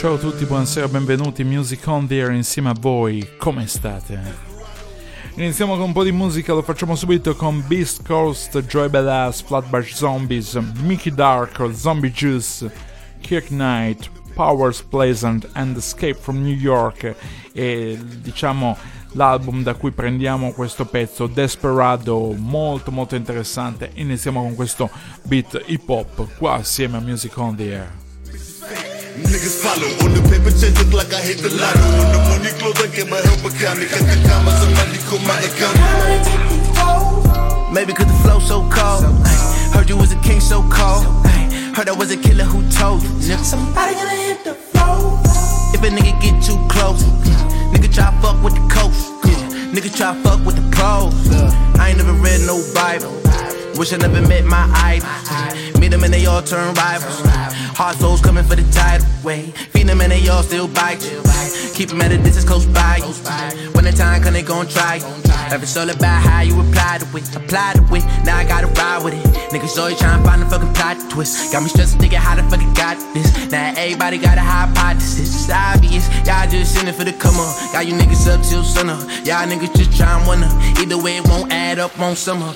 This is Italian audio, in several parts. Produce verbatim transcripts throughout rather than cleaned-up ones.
ciao a tutti, buonasera, benvenuti in Music On The Air insieme a voi, come state? Iniziamo con un po' di musica, lo facciamo subito con Beast Coast, Joy Badass, Flatbush Zombies, Mickey Dark, Zombie Juice, Kirk Knight, Powers Pleasant and Escape from New York e diciamo l'album da cui prendiamo questo pezzo, Desperado, molto molto interessante. Iniziamo con questo beat hip hop qua assieme a Music On The Air. Niggas follow on the paper chase, look like I hit the lotto. On the money clothes, I get my help account. Cut the comma, somebody call my account. Maybe cause the flow so cold. Ay, heard you was a king so cold. Ay, heard I was a killer who told you. Nigga, somebody gonna hit the flow. If a nigga get too close, nigga try fuck with the coach. Yeah, nigga try fuck with the pros. I ain't never read no Bible. Wish I never met my idol. Meet them and they all turn rivals. Hard souls coming for the title. Way feed them and they all still bite you. Keep them at a distance close by you. When the time come they gon' try. If it's all about how you apply to it, apply to it. Now I gotta ride with it. Niggas always trying to find a fucking plot twist. Got me stressed thinking how the fuck I got this. Now everybody got a hypothesis. It's obvious. Y'all just sending for the come on. Got you niggas up till sunup. Y'all niggas just trying wonder. Either way it won't add up on summer.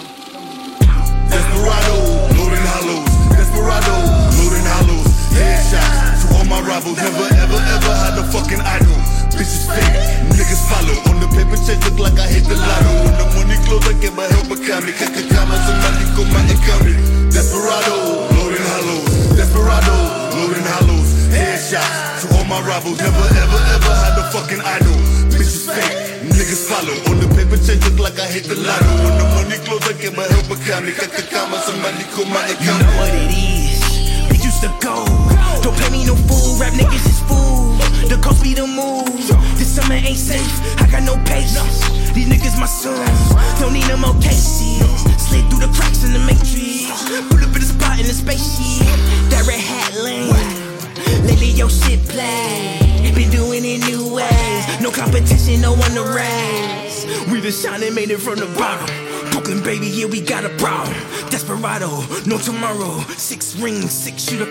Desperado, loading hollows. Desperado, loading hollows. Headshots to all my rivals. Never ever ever had a fucking idol. Bitches fake, niggas follow. On the paper chase, look like I hit the lotto. On the money clothes, I get my help account. Cut the comma, somebody call my account. Desperado, loading hollows. Desperado, loading hollows. Headshots to all my rivals. Never ever ever had a fucking idol. Bitches fake, niggas follow. On the paper chase, look like I hit the lotto. On the money clothes, I get my help account. Cut the comma, somebody call my account. You know what it is. We used to go. Don't play me no fool. Rap niggas is fool. The coast be the move. This summer ain't safe. I got no patience. These niggas my sons. Don't need no more cases. Slid through the cracks in the matrix. Put up in the spot in the spaceship. That red hat lane. Lately your shit play. Been doing it new ways. No competition, no one to raise. We the shine and made it from the bottom. Brooklyn, baby, yeah, we got a problem. Desperado, no tomorrow. Six rings, six shooter.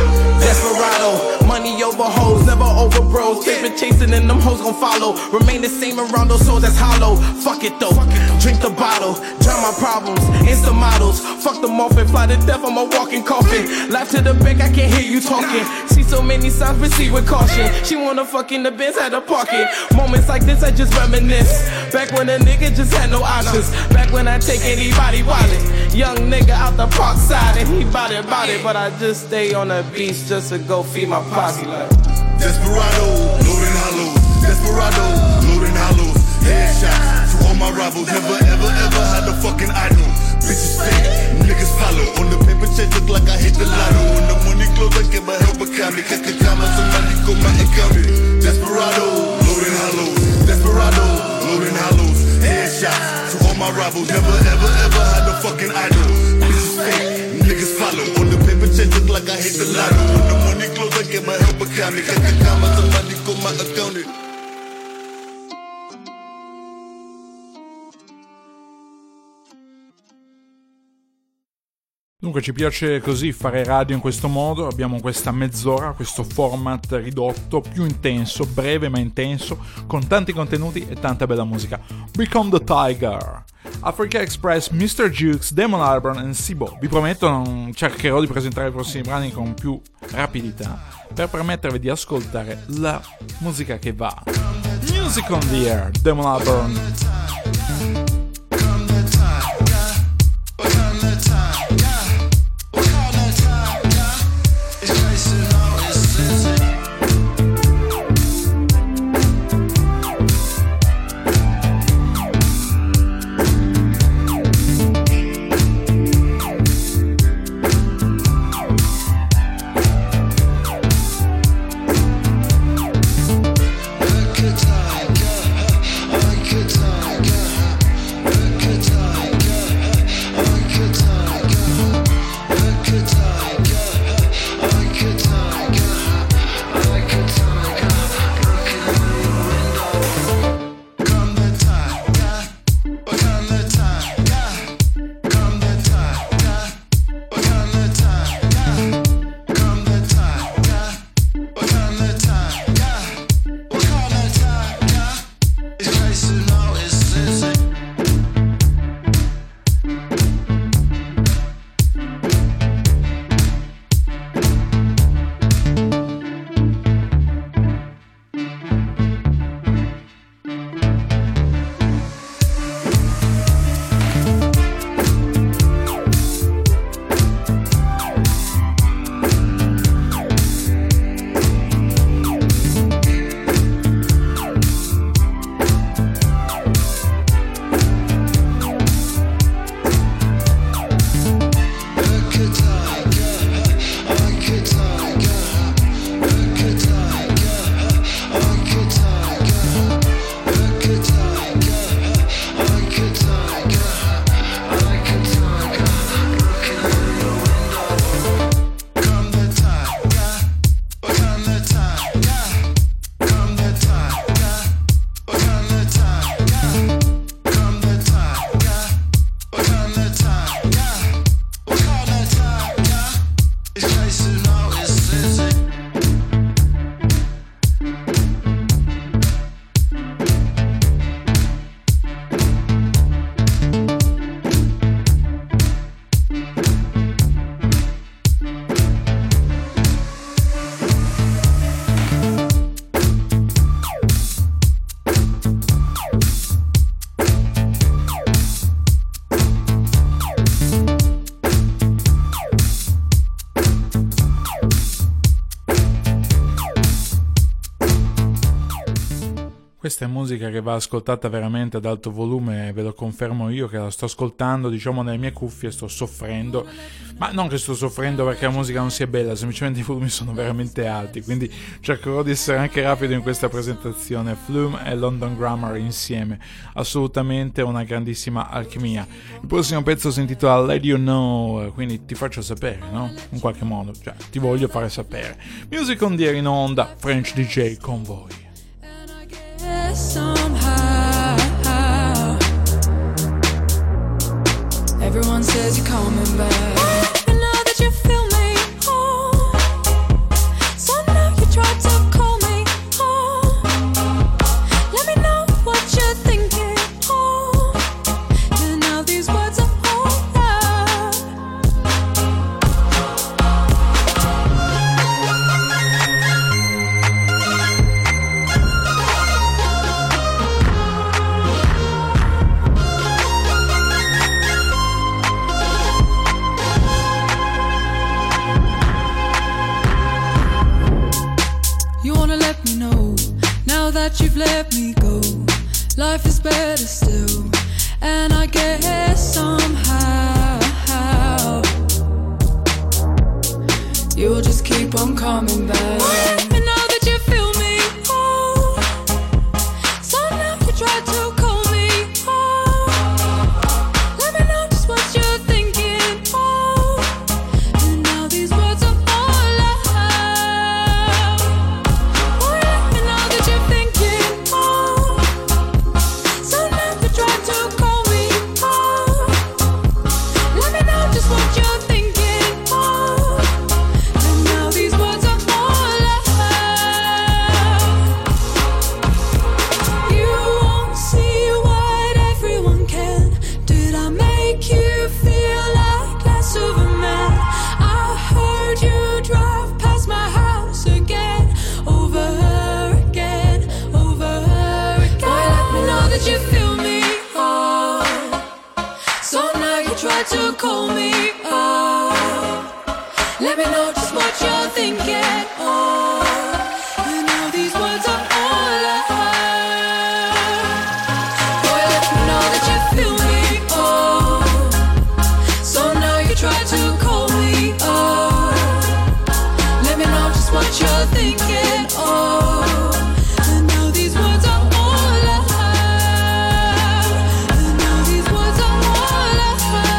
Desperado, money over hoes, never over bros. Paper chasing and them hoes gon' follow. Remain the same around those souls that's hollow. Fuck it though, drink the bottle. Drown my problems, insta models. Fuck them off and fly to death, I'm a walking coffin. Laugh to the bank, I can't hear you talking. See so many signs, proceed with caution. She wanna fuck in the Benz, had to park it. Moments like this, I just reminisce. Back when a nigga just had no options. Back when I take anybody wallet. Young nigga out the park side and he bout it, bout it. But I just stay on the beach just to go feed my posse like Desperado, loading hollows. Desperado, loading hollows. Headshots to all my rivals. Never ever ever had a fucking idol. Bitches fake, niggas follow. On the paper chase, look like I hit the lotto. On the money clothes, I get my help account. Cut the comma, somebody call my account. Desperado, loading hollows. Desperado, loading hollows. Headshots to all my rivals. Never ever ever had a fucking idol. Bitches fake, niggas follow. On the paper chase, look like I hit the lotto. On the money clothes, I get my help account. Cut the comma, somebody call my account. Dunque ci piace così fare radio in questo modo, abbiamo questa mezz'ora, questo format ridotto, più intenso, breve ma intenso, con tanti contenuti e tanta bella musica. Become the Tiger, Africa Express, mister Jukes, Damon Albarn e Sibo. Vi prometto non cercherò di presentare i prossimi brani con più rapidità per permettervi di ascoltare la musica che va. Music on the Air, Damon Albarn. Like a tiger, like a tiger. Questa è musica che va ascoltata veramente ad alto volume, ve lo confermo io che la sto ascoltando, diciamo, nelle mie cuffie, sto soffrendo, ma non che sto soffrendo perché la musica non sia bella, semplicemente i volumi sono veramente alti, quindi cercherò di essere anche rapido in questa presentazione. Flume e London Grammar insieme, assolutamente una grandissima alchimia. Il prossimo pezzo si intitola Let You Know, quindi ti faccio sapere, no? In qualche modo, cioè ti voglio fare sapere. Music on the air in onda, French D J con voi. Somehow everyone says you're coming back, and now that you feel me, oh, so now you try to call me, oh, let me know what you're thinking, oh, and now these words are all loud. That you've let me go, life is better still, and I guess somehow you'll just keep on coming back. And now that you feel me, oh, so now you try to call me, oh, let me know just what you're thinking, oh, and now these words are all out. Oh, let me know that you're thinking. To call me, oh, let me know just what you're thinking, oh, and now these words are all I have. Boy, let me know that you feel me, oh, so now you try to call me, oh, let me know just what you're thinking, oh, and now these words are all I have, and now these words are all I have.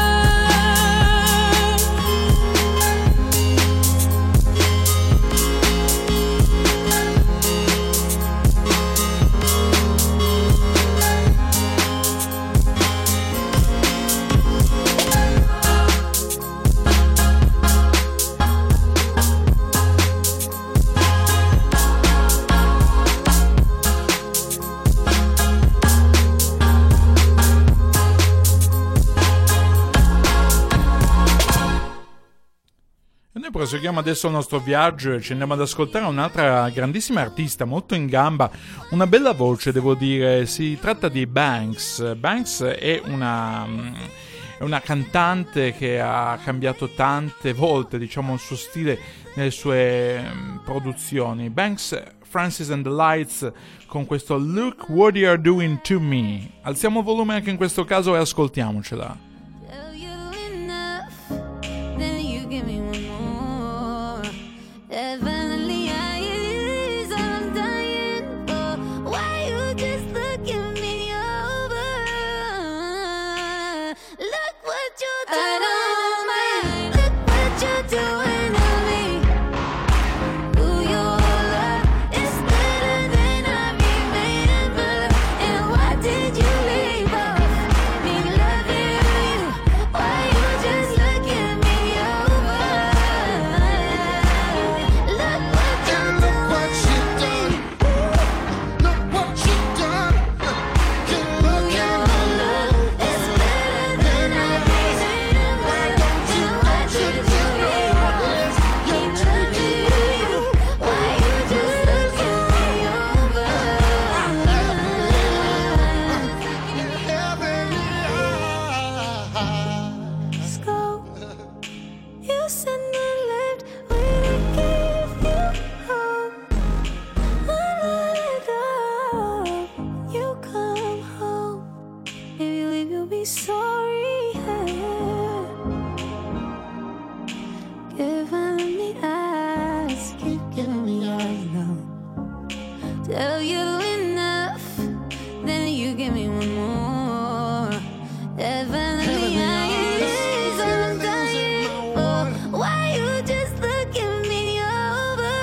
Proseguiamo adesso il nostro viaggio e ci andiamo ad ascoltare un'altra grandissima artista, molto in gamba, una bella voce devo dire, si tratta di Banks. Banks è una, è una cantante che ha cambiato tante volte, diciamo, il suo stile nelle sue produzioni. Banks, Francis and the Lights con questo Look What You're Doing To Me. Alziamo il volume anche in questo caso e ascoltiamocela. Oh giving me eyes, keep giving me eyes now. Tell you enough, then you give me one more. Heavenly eyes, I'm dying for. Why you just looking me over?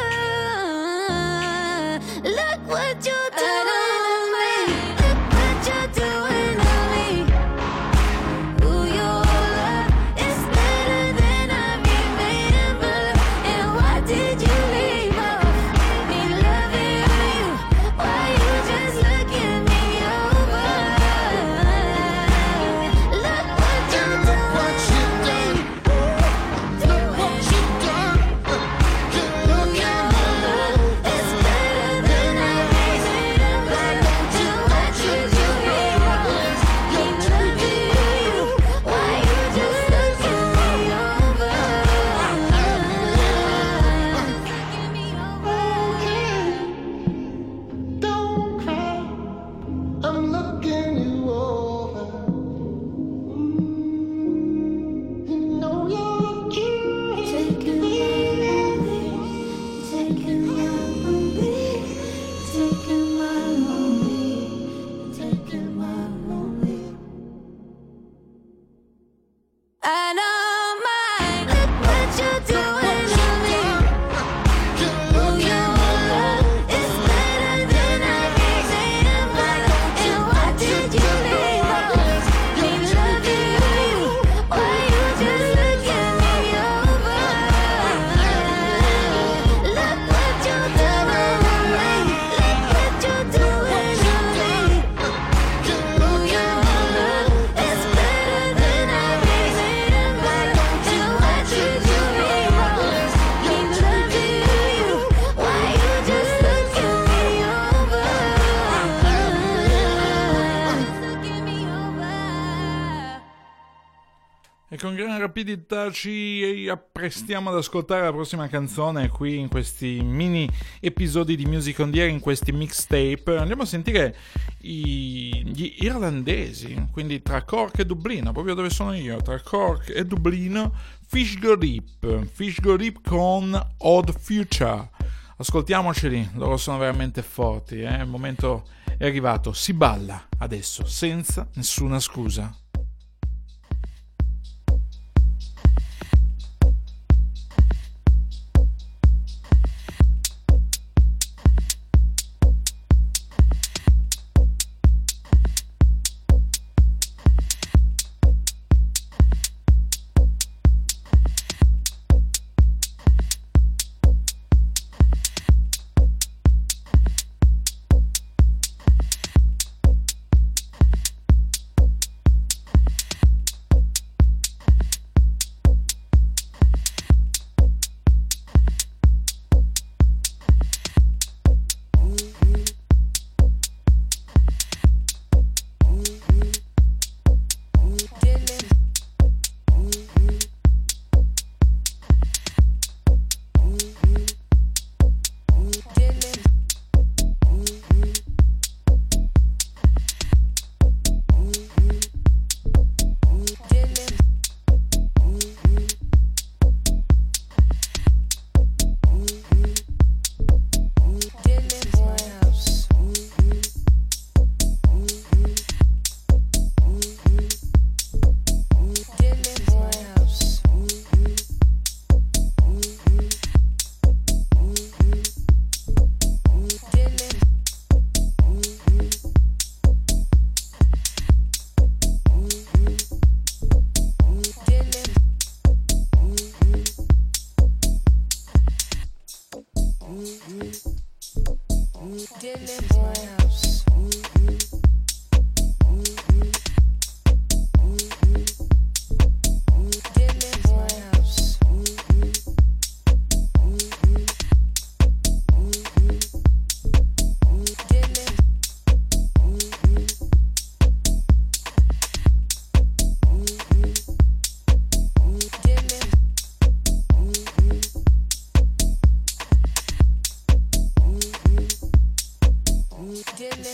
Look what you're doing to me. Look what you're doing to me. Ooh, your love is better than I remember. And why did you leave off me loving you? Why you just looking me over? Look what you're doing to me. Look what you've done. Look at my love is better than I remember. To what you do me wrong. Me loving you. Why you just looking me over? Looking me over. Don't cry, I'm looking you over. You know you're cute. Taking my lead, taking my lead, taking my lead, taking my lead. I don't mind. Look what you're doing to me. Ooh, your love is better than I remember. And why did you leave off me loving you? Why you just looking me over? Look what you're doing to me. Look what you're doing to me. Ooh, your love is better than I remember. To what you do me wrong. Me loving you. Why you just looking me over? Looking me over. E con gran rapidità ci apprestiamo ad ascoltare la prossima canzone qui in questi mini episodi di Music on the Air, in questi mixtape. Andiamo a sentire i- gli irlandesi, quindi tra Cork e Dublino, proprio dove sono io, tra Cork e Dublino, Fish Go Deep, Fish Go Deep con Odd Future. Ascoltiamoceli, loro sono veramente forti, eh? Il momento è arrivato, si balla adesso senza nessuna scusa. Dylan.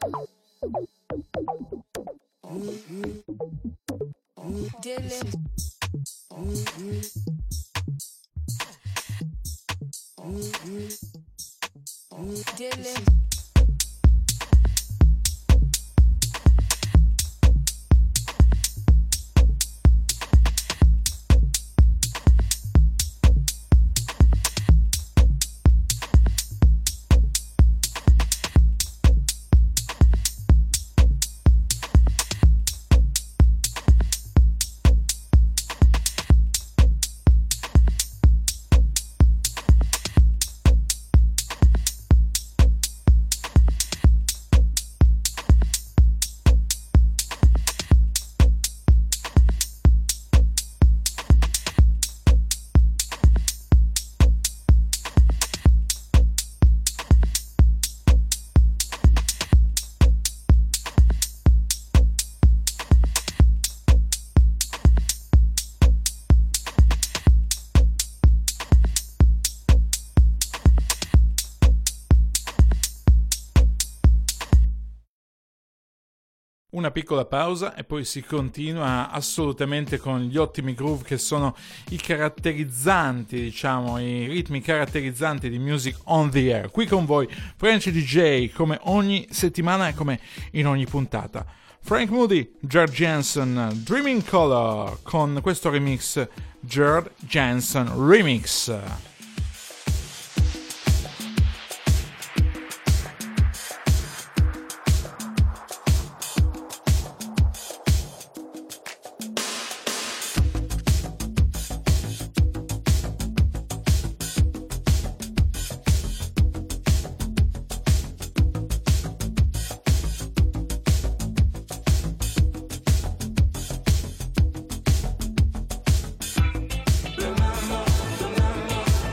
Dylan. Dylan. Una piccola pausa e poi si continua assolutamente con gli ottimi groove che sono i caratterizzanti, diciamo, i ritmi caratterizzanti di Music on the Air. Qui con voi French D J, come ogni settimana e come in ogni puntata. Frank Moody, Gerd Janson, Dreaming Color, con questo remix Gerd Janson Remix. Remember, remember.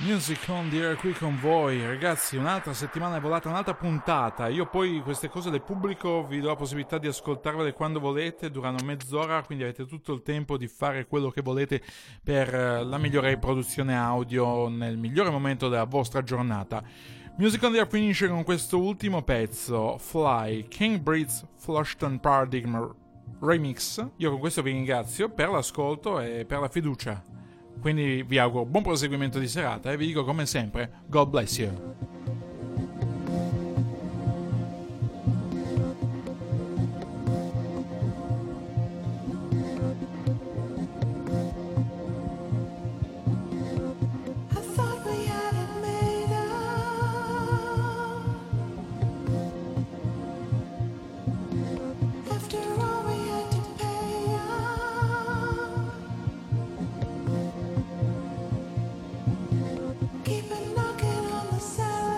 Music on the Air qui con voi, ragazzi. Un'altra settimana è volata, un'altra puntata. Io poi queste cose le pubblico, vi do la possibilità di ascoltarvele quando volete, durano mezz'ora, quindi avete tutto il tempo di fare quello che volete per la migliore riproduzione audio nel migliore momento della vostra giornata. Music on the Air finisce con questo ultimo pezzo, Fly, King Breeds Flushton Paradigm Remix. Io con questo vi ringrazio per l'ascolto e per la fiducia. Quindi vi auguro buon proseguimento di serata e vi dico come sempre, God bless you. Keep it knocking on the side.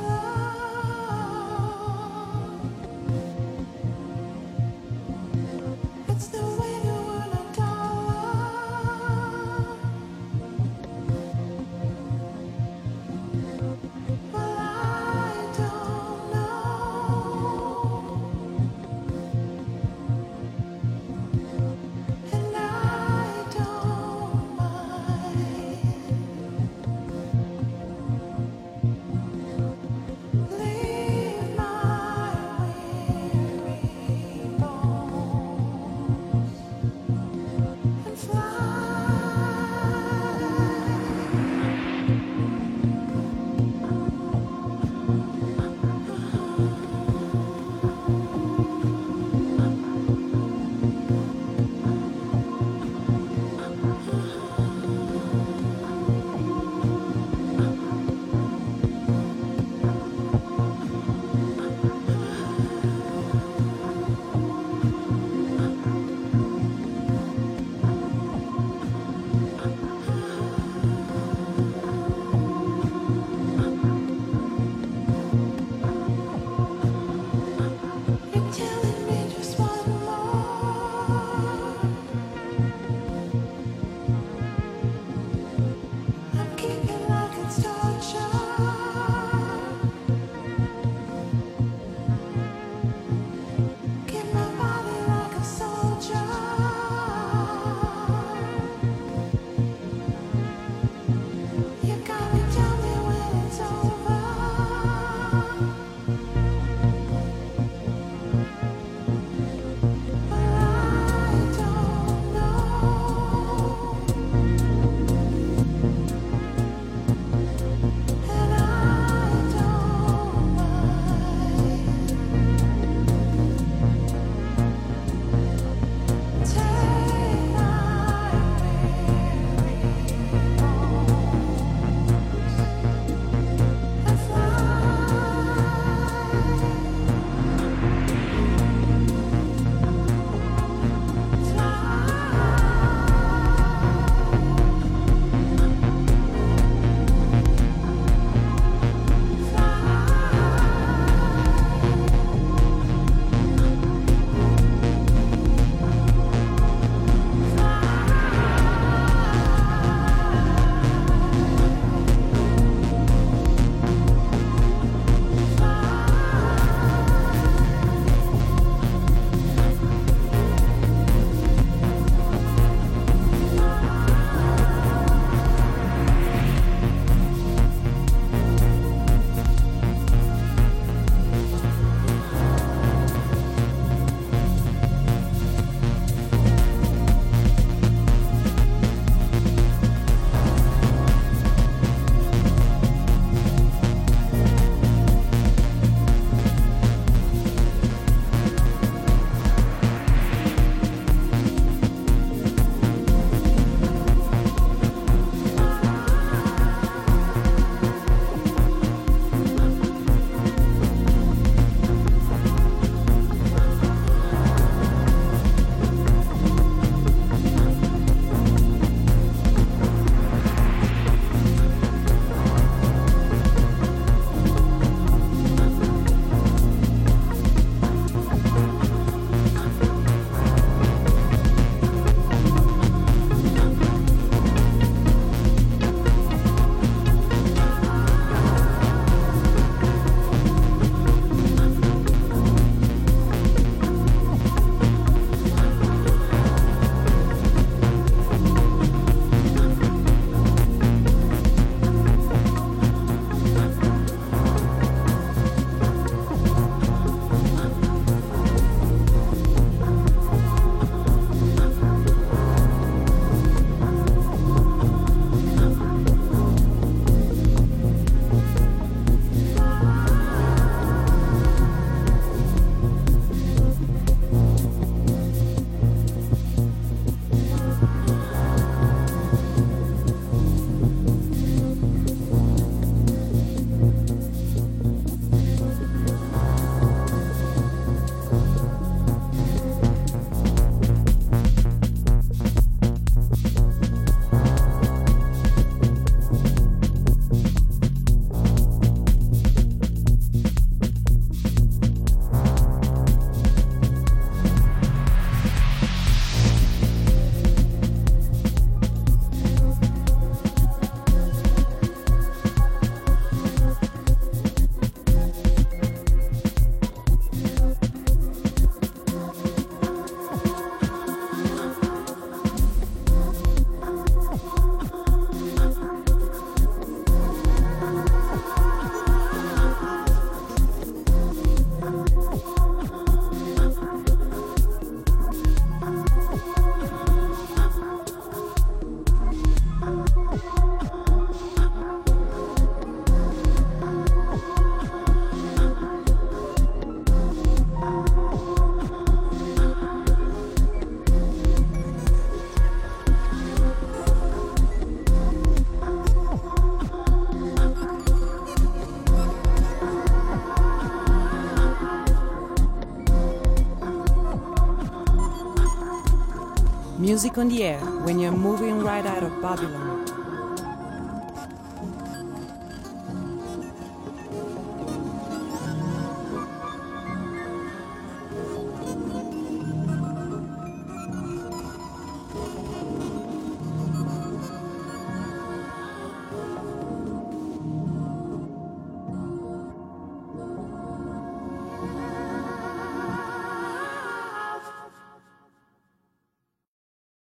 Music on the air when you're moving right out of Babylon.